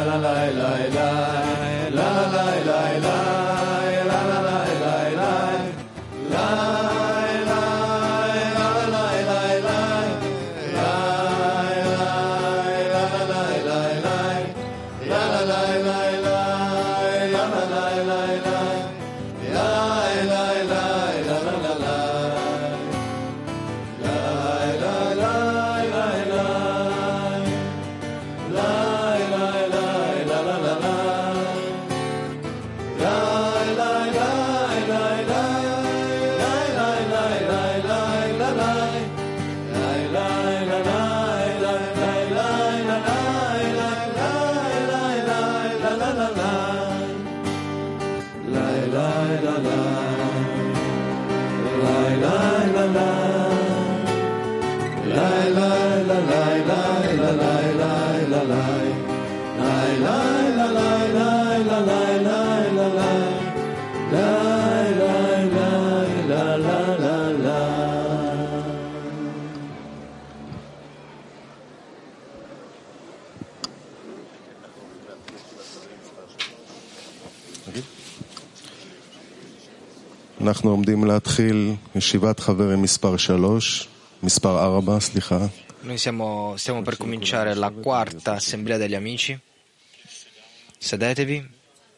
אנחנו עומדים להתחיל ישיבת חברים מספר 4, סליחה. Noi stiamo per cominciare la quarta assemblea degli amici. Sedetevi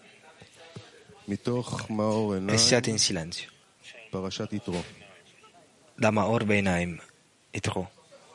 מתוך מאור e עיניים, siate in silenzio. פרשת יתרו. Da Maor Beinaim, Yitro.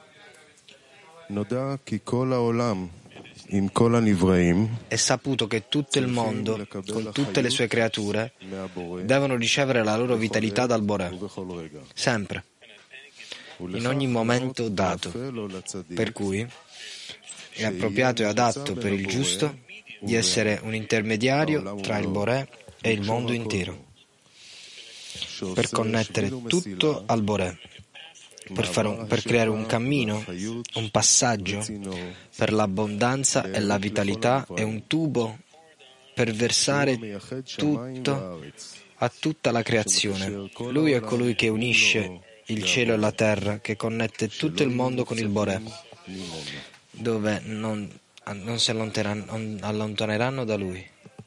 נודע כי כל העולם עם כל הנבראים È saputo che tutto il mondo, con tutte le sue creature, מהבורא devono ricevere la loro vitalità dal Boré, ובכל רגע. sempre, in ogni momento dato. Per cui è appropriato e adatto per il giusto di essere un intermediario tra il Boré e il mondo intero, per connettere tutto al Boré, per creare un cammino, un passaggio per l'abbondanza e la vitalità e un tubo per versare tutto a tutta la creazione. Lui è colui che unisce il cielo e la terra, che connette tutto il mondo con il Boré, dove non si allontaneranno da lui.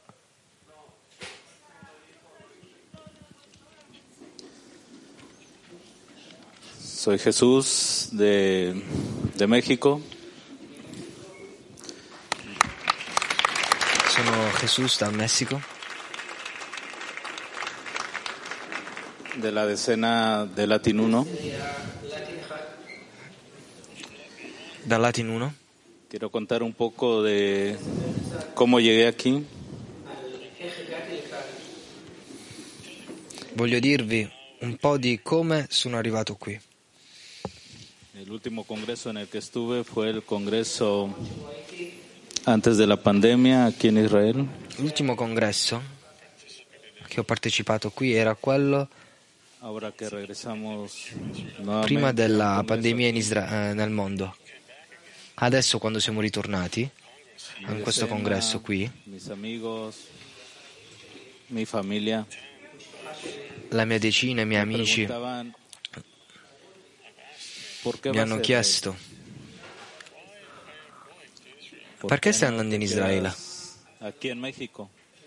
Soy Jesús de México. Sono Jesús dal Messico, De la decena de Latin 1. dal Latin 1. Quiero contar un poco de cómo llegué aquí. Voglio dirvi un po' di come sono arrivato qui. El último congreso en el que estuve fue el congreso antes de la pandemia aquí en Israel. L'ultimo congresso che ho partecipato qui era quello Ahora que regresamos nuevamente prima della al congreso pandemia nel mondo. Adesso, quando siamo ritornati mi in questo decena, congresso qui, mis amigos, mi familia la mia decina e i miei me amici preguntaban, ¿por qué mi vas hanno a Israel? chiesto: ¿Por perché qué stai no andando te in Israele? quedas aquí en México?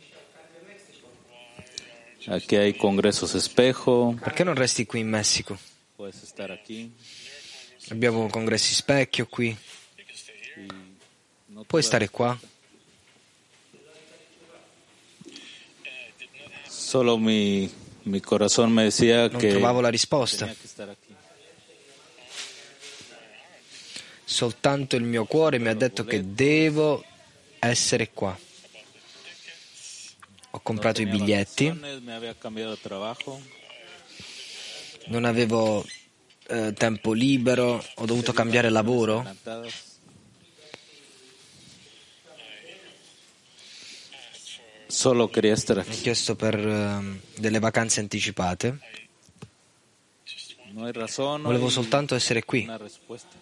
Aquí hay congresos espejo, Perché non resti qui in Messico? puedes estar aquí. Abbiamo congressi specchio qui, No puoi tuve- stare qua. Solo mi corazón me decía Non que trovavo la risposta. tenía que estar aquí. Soltanto il mio cuore mi ha detto che devo essere qua. Ho comprato i Tenía biglietti, vacaciones, me había cambiado de trabajo. non avevo tempo libero, ho dovuto cambiare lavoro. Adelantadas. Solo quería estar Ho aquí. chiesto per delle vacanze anticipate. No hay razón, no Volevo hay soltanto essere qui. una respuesta.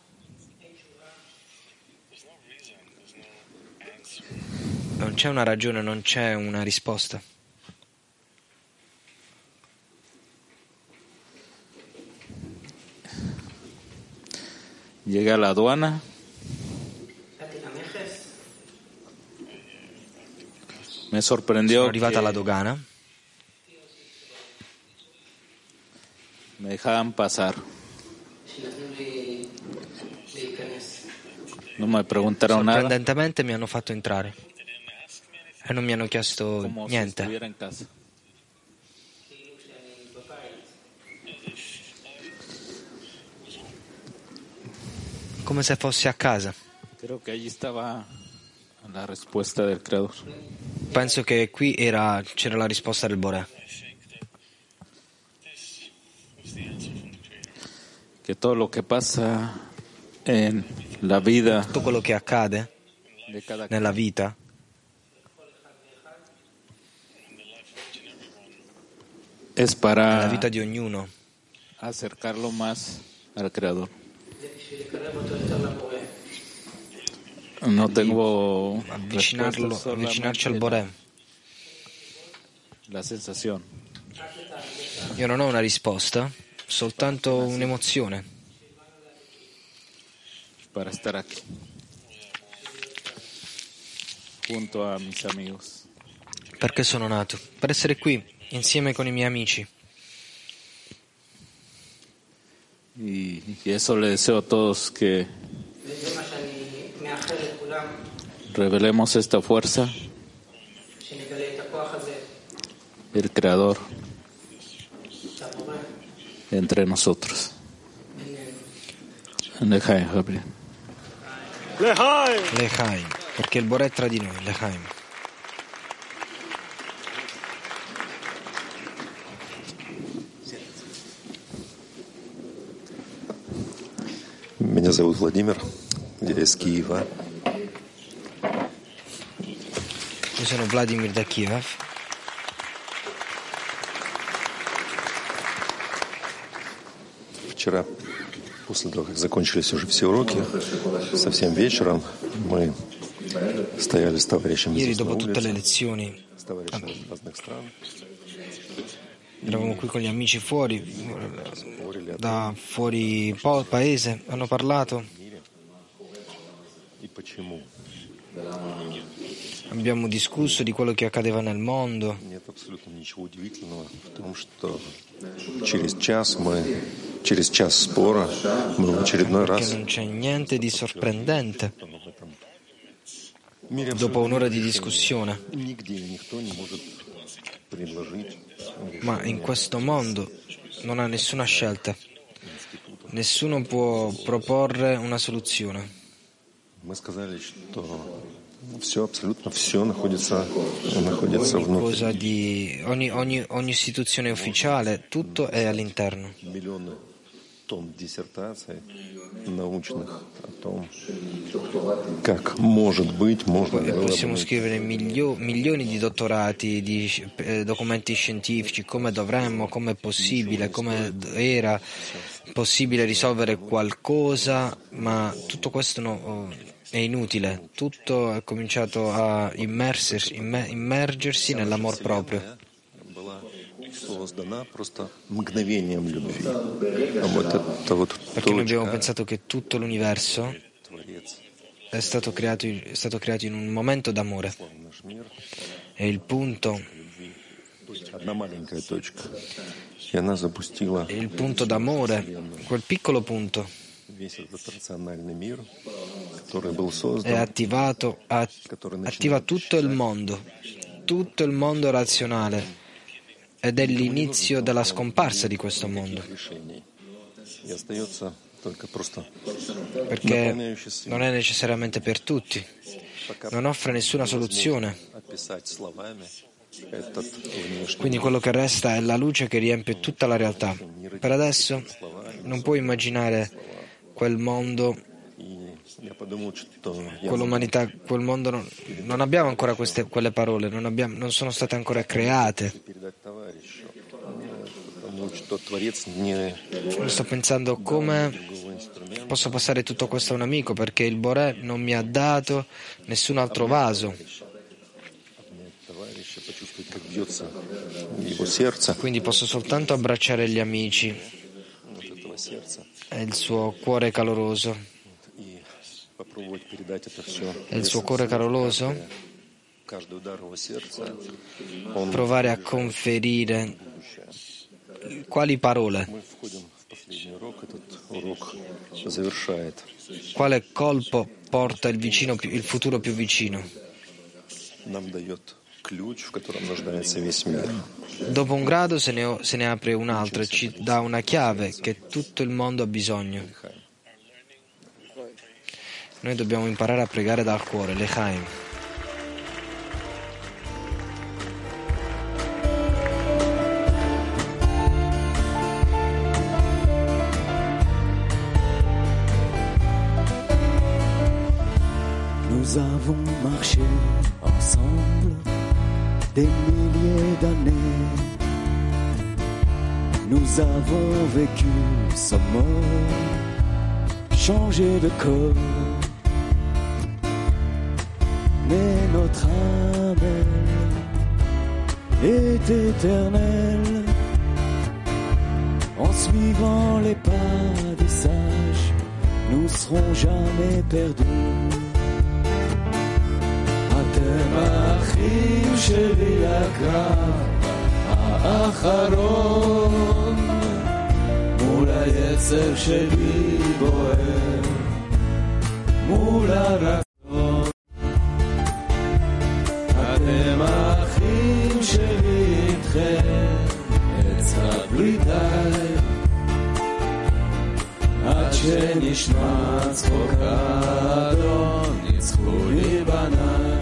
Non c'è una ragione, non c'è una risposta. Llegué a la aduana Me Sono sorprendió arrivata alla que dogana, me dejaban pasar. No me preguntaron nada, sorprendentemente mi hanno fatto entrare e non mi hanno chiesto como si niente, estuviera en casa. come se fossi a casa. Creo que allí estaba la respuesta del Creador. Penso che qui c'era la risposta del Boré, Que todo lo que pasa en la vida tutto quello che accade de cada nella vita es nella para vita di ognuno acercarlo más al Creador. No tengo respuestas, avvicinarci al solamente Boré. la sensación. Io non ho una risposta, soltanto un'emozione Para estar aquí, junto a mis amigos. perché sono nato, per essere qui insieme con i miei amici. Y eso le deseo a todos, que revelemos esta fuerza, el Creador, entre nosotros. Lejaim, Gabriel. L'Echaim, perché il Boré è tra di noi, l'Echaim. Меня зовут Владимир, я из Киева. Io sono Vladimir da Kiev. Вчера, после того, как закончились уже все уроки, совсем вечером мы стояли с товарищами Ieri, здесь на dopo tutte le улице, lezioni, с товарищами из разных стран. eravamo qui con gli amici fuori, da fuori paese, hanno parlato, И почему? abbiamo discusso di quello che accadeva nel mondo. Нет абсолютно ничего удивительного в том, что через час спора мы в очередной Perché раз non c'è niente di sorprendente в этом мире dopo абсолютно un'ora di решения. discussione, Нигде никто не может предложить ma in questo mondo non ha nessuna scelta. Nessuno può proporre una soluzione. Мы сказали, что все, абсолютно все находится внутри. Ogni istituzione ufficiale, tutto è all'interno. Миллионы тонн диссертаций научных о том, как может быть, можно E было possiamo бы scrivere milioni di dottorati, di documenti scientifici, come dovremmo, come è possibile, come era possibile risolvere qualcosa, ma tutto questo è inutile. Tutto è cominciato a immergersi nell'amor proprio. была создана просто мгновением любви. А вот это вот Perché noi abbiamo точка, pensato che tutto l'universo Творец, è stato creato in un momento d'amore. наш мир, E il punto одна маленькая точка. И она запустила d'amore, quel piccolo punto, весь этот рациональный мир, который был è создан, attiva tutto il mondo razionale, ed è l'inizio della scomparsa di questo mondo, решений. И остается только просто perché non è necessariamente per tutti, non offre nessuna soluzione. описать словами этот внешний Quindi quello che resta è la luce che riempie tutta la realtà. Per adesso non puoi immaginare quel mondo, И я подумал, что quell'umanità, quel mondo. Non abbiamo ancora quelle parole, non sono state ancora create. передать товарищу, потому что Творец не Sto pensando come posso passare tutto questo a un amico, perché il Boré non mi ha dato nessun altro vaso. товарища, почувствовать, как бьется его сердце, Quindi posso soltanto abbracciare gli amici вот этого сердца, e il suo cuore caloroso. и попробовать передать это все E il suo cuore caloroso provare a conferire quali parole, quale colpo porta il futuro più vicino. Dopo un grado se ne apre un altro e ci dà una chiave che tutto il mondo ha bisogno. Noi dobbiamo imparare a pregare dal cuore, L'Echaim. Nous avons marché ensemble des milliers d'années. Nous avons vécu sans mort, changé de corps. Mais notre âme, elle, est éternelle. En suivant les pas des sages, nous serons jamais perdus. אתם האחים שלי לקרב האחרון, מול היצר שלי בוער, מול הרצון. אתם האחים שלי איתכם, אצחק בלי די, עד שנשמע צחוק האדון, ניצחו לי בניי.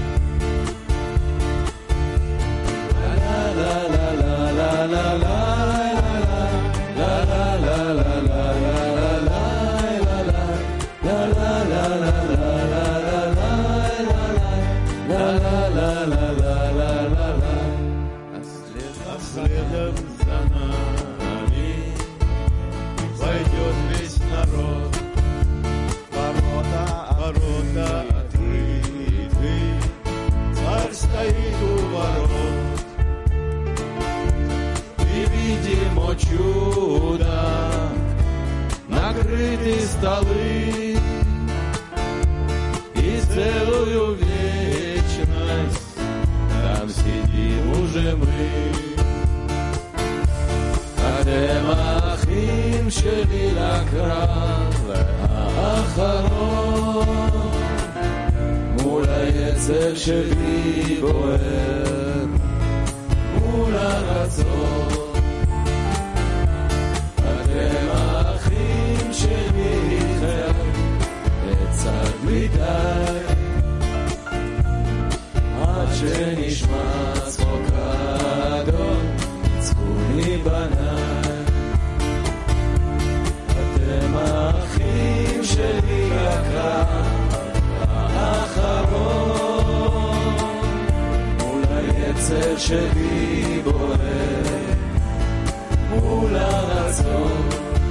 Пойдет весь народ, ворота открыты, царь стоит у ворот. И видим, о чудо, накрыты столы, и целую вечность там сидим уже мы. אתם האחים שלי לקרב האחרון, מול היצר שלי בוער, מול הרצון. אתם האחים שלי איתכם, אצעק בלי די, עד שנשמע צחוק האדון, ניצחוני בניי. אתם האחים שלי לקרב האחרון, מול היצר שלי בוער, מול הרצון.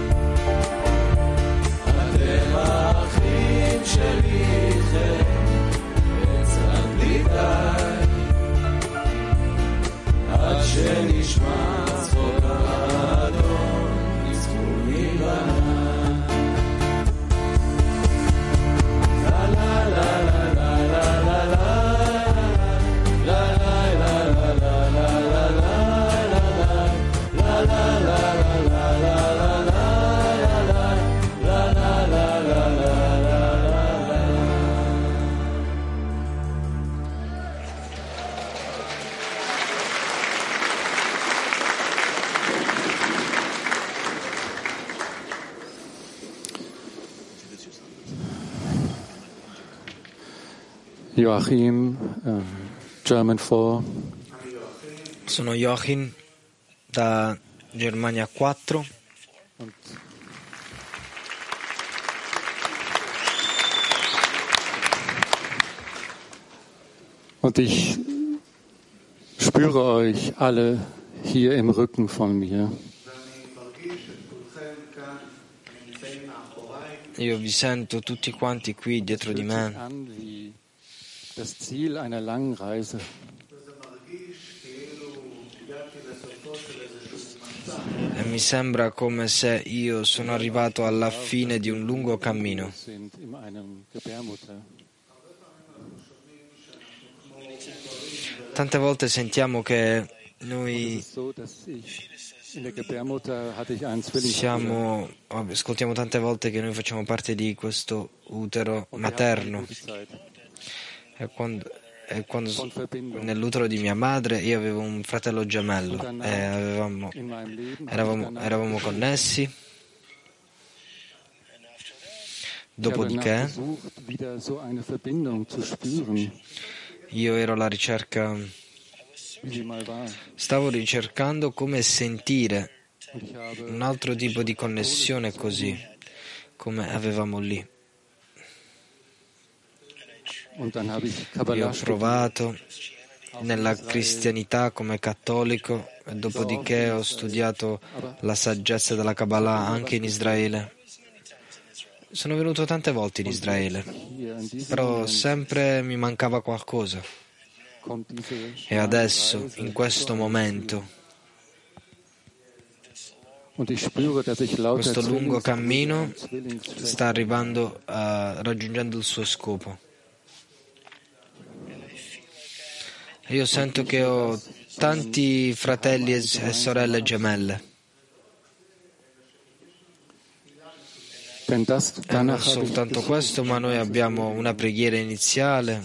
אתם האחים שלי איתכם, אצעק בלי די, עד שנשמע צחוק האדון, ניצחוני בניי. Joachim, German 4. Sono Joachim da Germania 4. Und ich spüre euch alle hier im Rücken von mir. Io vi sento tutti quanti qui dietro di me. Das Ziel einer langen Reise. E mi sembra come se io sono arrivato alla fine di un lungo cammino. Tante volte sentiamo che noi ascoltiamo tante volte che noi facciamo parte di questo utero materno. E quando nell'utero di mia madre io avevo un fratello gemello e eravamo connessi. Dopodiché io ero alla ricerca, stavo ricercando come sentire un altro tipo di connessione così come avevamo lì. Io ho provato nella cristianità come cattolico e dopodiché ho studiato la saggezza della Kabbalah anche in Israele. Sono venuto tante volte in Israele, però sempre mi mancava qualcosa. E adesso, in questo momento, questo lungo cammino sta arrivando raggiungendo il suo scopo. Io sento che ho tanti fratelli e sorelle gemelle. E non soltanto questo, ma noi abbiamo una preghiera iniziale.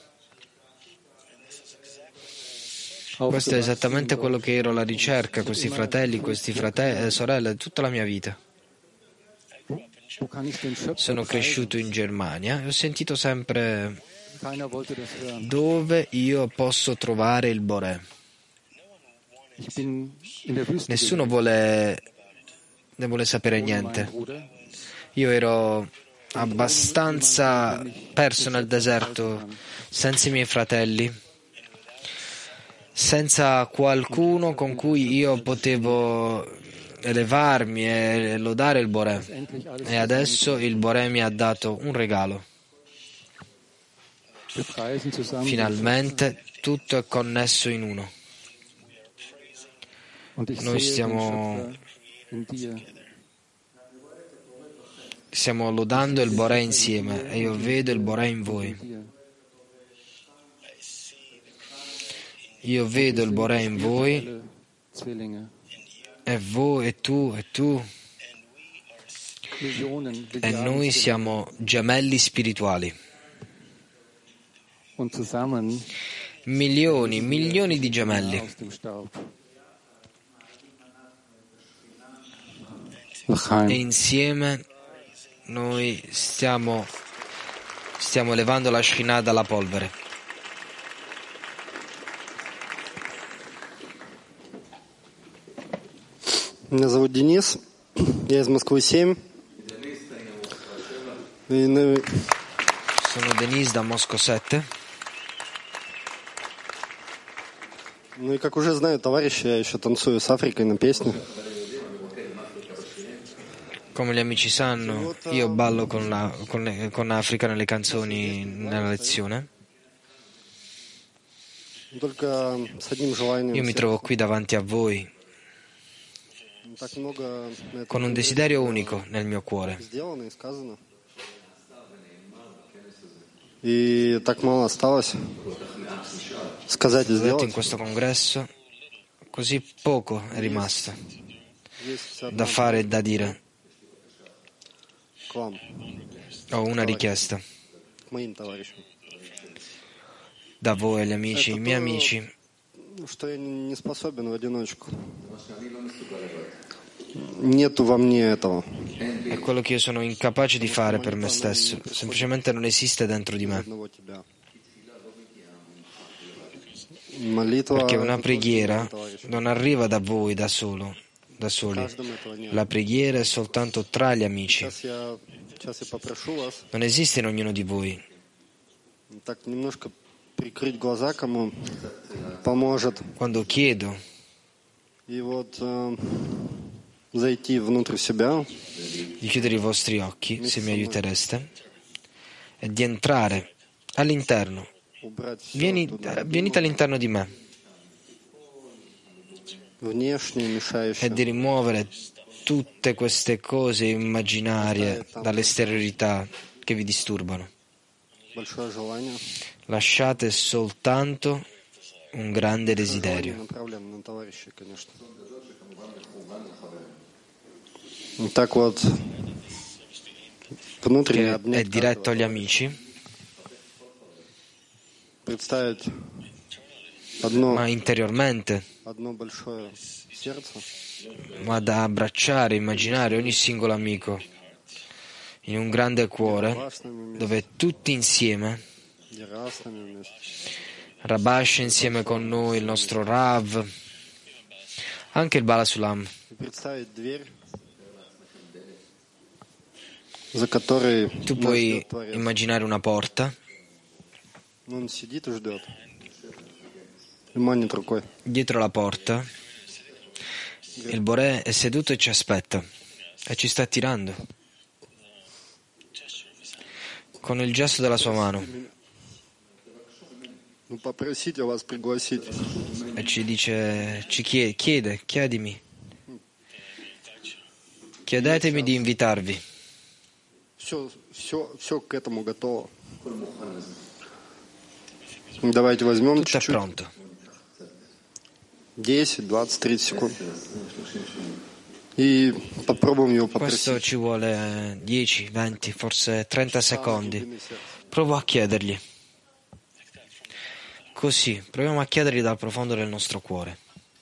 Questo è esattamente quello che ero alla ricerca, questi fratelli, sorelle, tutta la mia vita. Sono cresciuto in Germania e ho sentito sempre dove io posso trovare il Boré. Nessuno ne vuole sapere niente. Io ero abbastanza perso nel deserto, senza i miei fratelli, senza qualcuno con cui io potevo elevarmi e lodare il Boré. E adesso il Boré mi ha dato un regalo. Finalmente tutto è connesso in uno. Noi stiamo lodando il Boré insieme e io vedo il Boré in voi. Io vedo il Boré in voi e voi e tu e noi siamo gemelli spirituali. Milioni di gemelli. E insieme noi stiamo levando la Shekhinah dalla polvere. Меня зовут Денис, я из Москвы 7. Sono Denis da Mosco 7. Ну и как уже знают товарищи, я еще танцую с Африкой на песне. Come gli amici sanno, io ballo con Africa nelle canzoni nella lezione. Io mi trovo qui davanti a voi con un desiderio unico nel mio cuore. Vedete, in questo congresso così poco è rimasto da fare e da dire. Ho una richiesta da voi, gli amici, i miei amici. È quello che io sono incapace di fare per me stesso, semplicemente non esiste dentro di me. Perché una preghiera non arriva da voi da soli. La preghiera è soltanto tra gli amici. Non esiste in ognuno di voi. Quando chiedo di chiudere i vostri occhi, se mi aiutereste, e di entrare all'interno. Venite all'interno di me e di rimuovere tutte queste cose immaginarie dall'esteriorità che vi disturbano. Lasciate soltanto un grande desiderio che è diretto agli amici, ma interiormente, ma da abbracciare, immaginare ogni singolo amico in un grande cuore dove tutti insieme, Rabash insieme con noi, il nostro Rav, anche il Bala Sulam. Tu puoi immaginare una porta. Dietro la porta il Boré è seduto e ci aspetta e ci sta attirando con il gesto della sua mano e ci dice, ci chiedimi, chiedetemi di invitarvi. Tutto è pronto. 10, 20, 30 secondi. E попробуем его попросить. Questo ci vuole 10, 20, forse 30 secondi. Provo a chiedergli. Così, proviamo a chiedergli dal profondo del nostro cuore.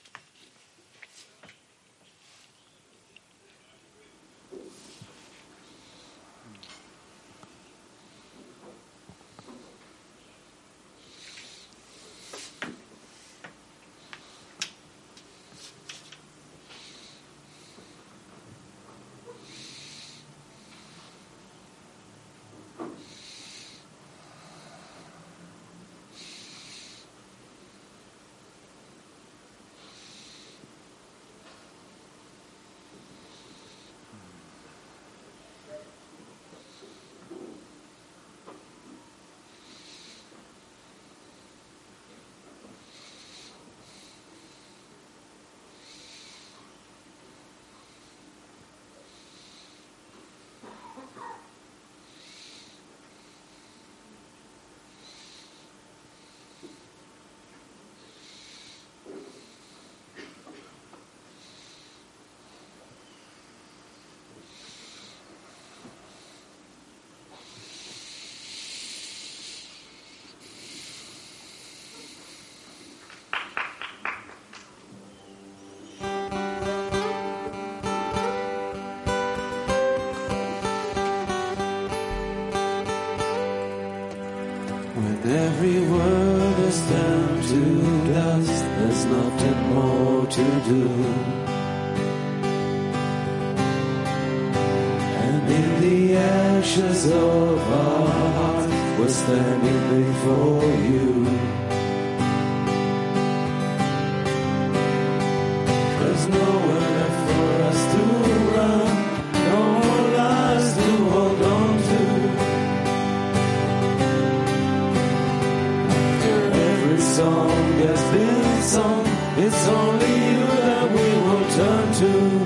Every word is turned to dust, there's nothing more to do. And in the ashes of our hearts, we're standing before you. There's nowhere left for us to run, no more lies to hold on to. Song has been sung, it's only you that we will turn to.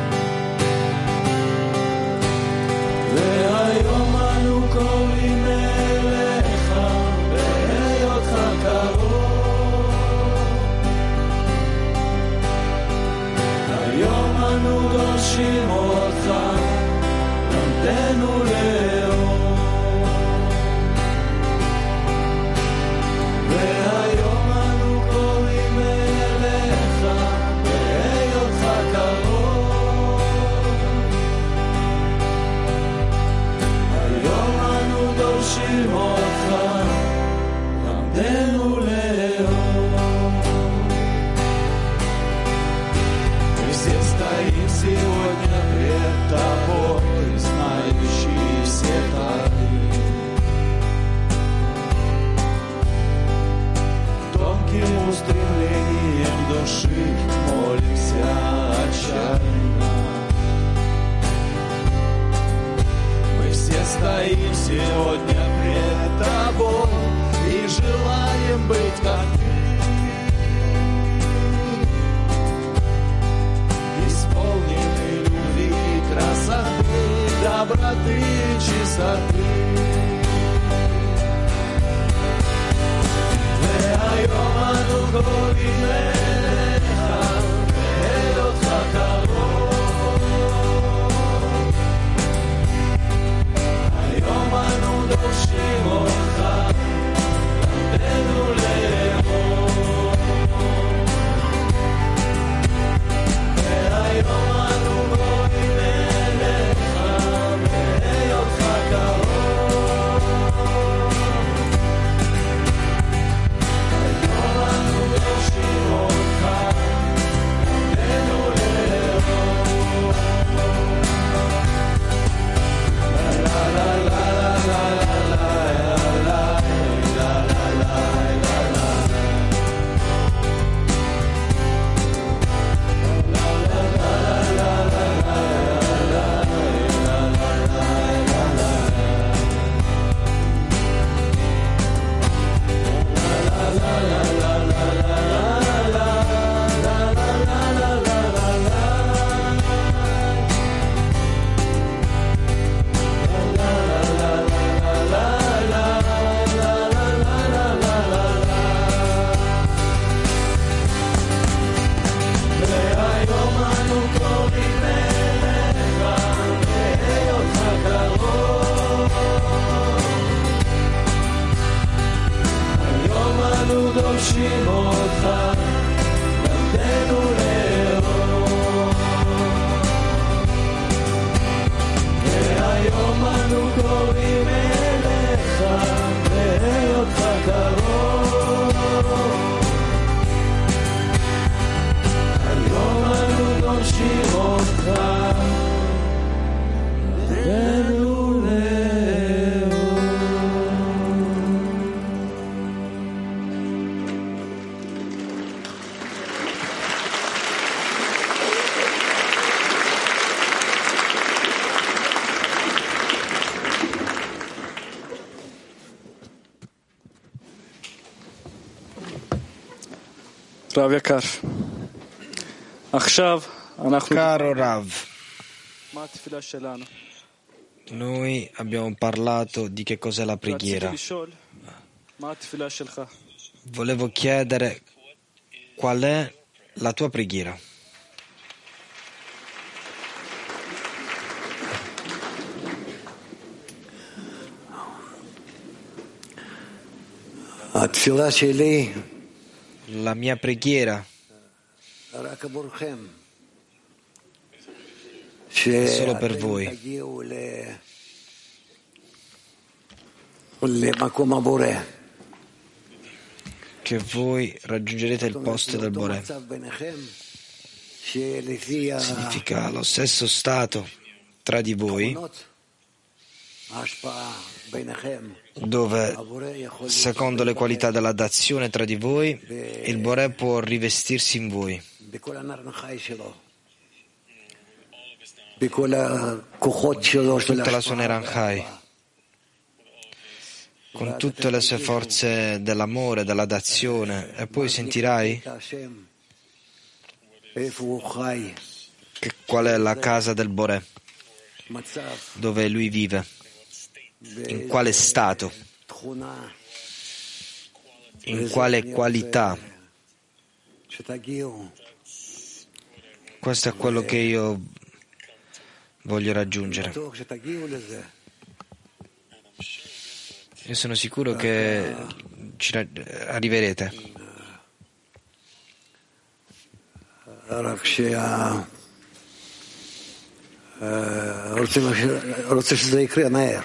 והיום אנו קוראים אליך בהיותך קרוב. היום אנו דורשים אותך, למדנו לאור. והיום אנו קוראים אליך בהיותך קרוב. היום אנו דורשים אותך, למדנו לאור. Мы все стоим сегодня пред тобой, знающий все тайны. Тонким устремлением души молимся отчаянно. Мы все стоим сегодня пред тобой и желаем быть как ты, исполнены любви, красоты, доброты, чистоты. והיום אנו אנו דורשים אותך, למדנו לאהוב. והיום אנו קוראים אליך, בהיותך קרוב. היום אנו דורשים אותך, למדנו לאהוב. רב יקר, עכשיו אנחנו... Caro Rav, מה התפילה שלנו? noi abbiamo parlato di che cos'è la preghiera. רציתי לשאול, מה התפילה שלך? Volevo chiedere qual è la tua preghiera. התפילה שלי La mia preghiera רק עבורכם, è solo per voi, שאתם תגיעו למקום הבורא. che voi raggiungerete il posto del Boré. מצב ביניכם, שלפי Significa lo stesso stato tra di voi, ההשפעה ביניכם, dove, הבורא יכול secondo le qualità della dazione tra di voi, il Boré può rivestirsi in voi. בכל הנר חי שלו, בכל הכוחות שלו של Tutta la sua ההשפעה, Neranchai, con tutte le sue forze dell'amore, della dazione, e poi sentirai השם, איפה הוא חי, qual è la casa del Boré, מצב, dove lui vive, in quale stato, תכונה, in quale qualità. שתגיעו Questo è quello che io voglio raggiungere. בטוח שתגיעו לזה. Io sono sicuro che arriverete. רק רוצה שזה יקרה מהר.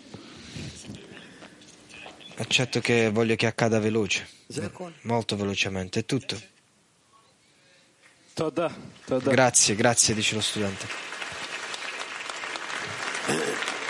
Accetto che voglio che accada veloce, molto velocemente, è tutto. תודה, תודה. Grazie, dice lo studente.